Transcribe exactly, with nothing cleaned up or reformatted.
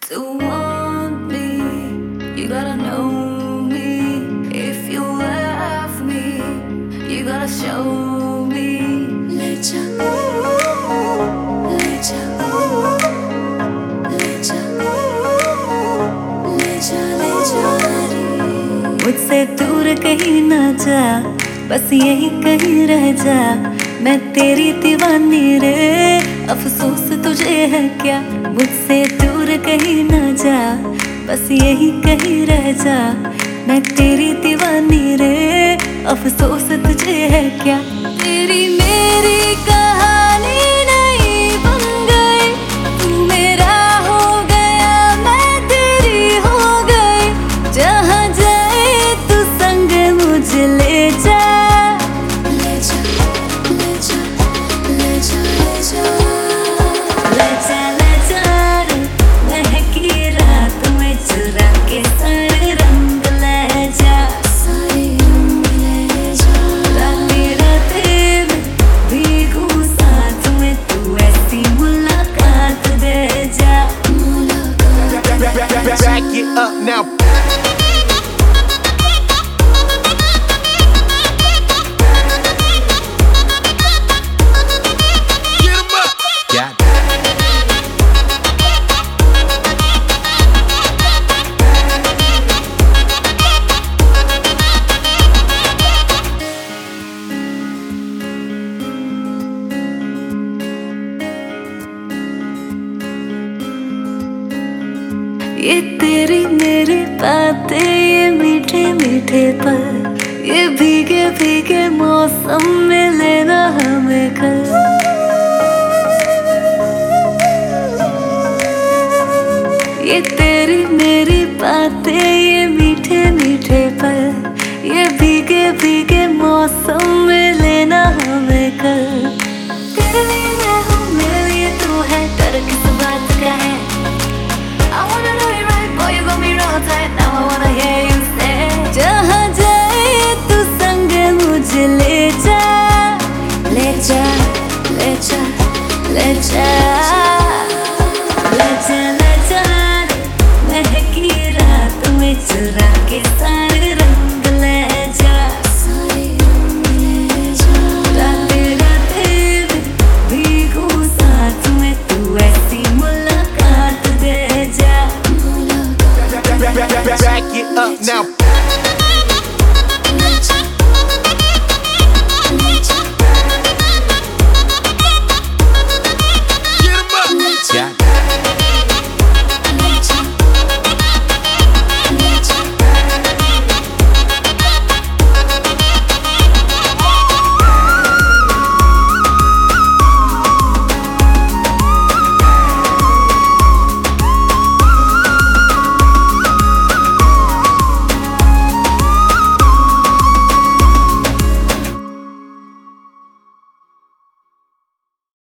To want me, you gotta know me. If you love me, you gotta show me. ले जा, ले जा, ले जा, ले जा, ले जा रे। मुझसे दूर कहीं ना जा, बस यही कहीं रह जा। मैं तेरी दीवानी रे, अफसोस तुझे है क्या। मुझसे दूर कहीं ना जा, बस यही कहीं रह जा। मैं तेरी दीवानी रे, अफसोस तुझे है क्या। तेरी मेरी कहानी नहीं बन गई, तू मेरा हो गया, मैं तेरी हो गई। जहाँ जाए तू संग मुझे ले जा। Back it up now. Get 'em up. Got it. ये तेरी मेरी बातें, ये मीठे मीठे पल, ये भीगे भीगे मौसम में लेना हमें कल। ये तेरी मेरी बातें, ये मीठे मीठे पल, ये भीगे भीगे मौसम में लेना हमें कल। तेरे लिए मैं हूँ, मेरे लिए तू है, डर किस बात का है। I wanna know you right, boy, you got me real tight. Now I wanna hear you say, जहाँ जाए तू संग मुझे ले जा, ले जा, ले जा, ले जा, ले जा, ले जा। महकी रात में चुरा के सारे रंग ले जा, राते राते में भीगू साथ में, तू ऐसी मुलाकात दे जा। Back it up now.